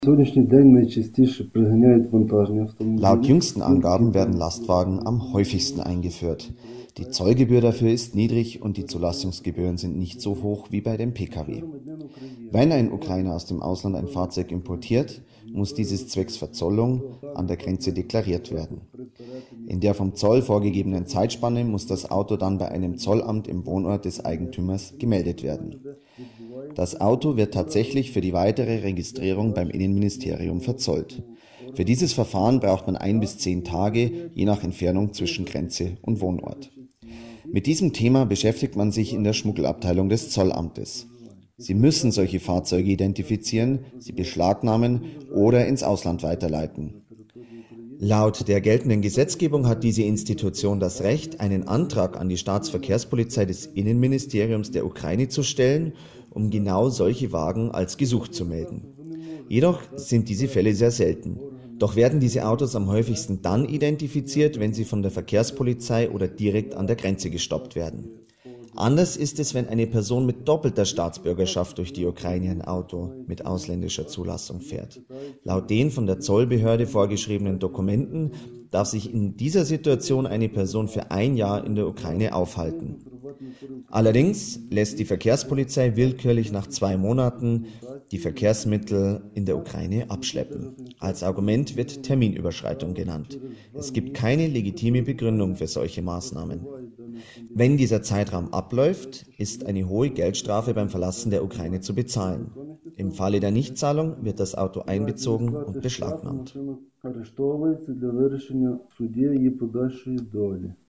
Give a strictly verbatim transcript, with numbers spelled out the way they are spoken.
Laut jüngsten Angaben werden Lastwagen am häufigsten eingeführt. Die Zollgebühr dafür ist niedrig und die Zulassungsgebühren sind nicht so hoch wie bei dem Pkw. Wenn ein Ukrainer aus dem Ausland ein Fahrzeug importiert, muss dieses zwecks Verzollung an der Grenze deklariert werden. In der vom Zoll vorgegebenen Zeitspanne muss das Auto dann bei einem Zollamt im Wohnort des Eigentümers gemeldet werden. Das Auto wird tatsächlich für die weitere Registrierung beim Innenministerium verzollt. Für dieses Verfahren braucht man ein bis zehn Tage, je nach Entfernung zwischen Grenze und Wohnort. Mit diesem Thema beschäftigt man sich in der Schmuggelabteilung des Zollamtes. Sie müssen solche Fahrzeuge identifizieren, sie beschlagnahmen oder ins Ausland weiterleiten. Laut der geltenden Gesetzgebung hat diese Institution das Recht, einen Antrag an die Staatsverkehrspolizei des Innenministeriums der Ukraine zu stellen, um genau solche Wagen als gesucht zu melden. Jedoch sind diese Fälle sehr selten. Doch werden diese Autos am häufigsten dann identifiziert, wenn sie von der Verkehrspolizei oder direkt an der Grenze gestoppt werden. Anders ist es, wenn eine Person mit doppelter Staatsbürgerschaft durch die Ukraine ein Auto mit ausländischer Zulassung fährt. Laut den von der Zollbehörde vorgeschriebenen Dokumenten darf sich in dieser Situation eine Person für ein Jahr in der Ukraine aufhalten. Allerdings lässt die Verkehrspolizei willkürlich nach zwei Monaten die Verkehrsmittel in der Ukraine abschleppen. Als Argument wird Terminüberschreitung genannt. Es gibt keine legitime Begründung für solche Maßnahmen. Wenn dieser Zeitraum abläuft, ist eine hohe Geldstrafe beim Verlassen der Ukraine zu bezahlen. Im Falle der Nichtzahlung wird das Auto einbezogen und beschlagnahmt.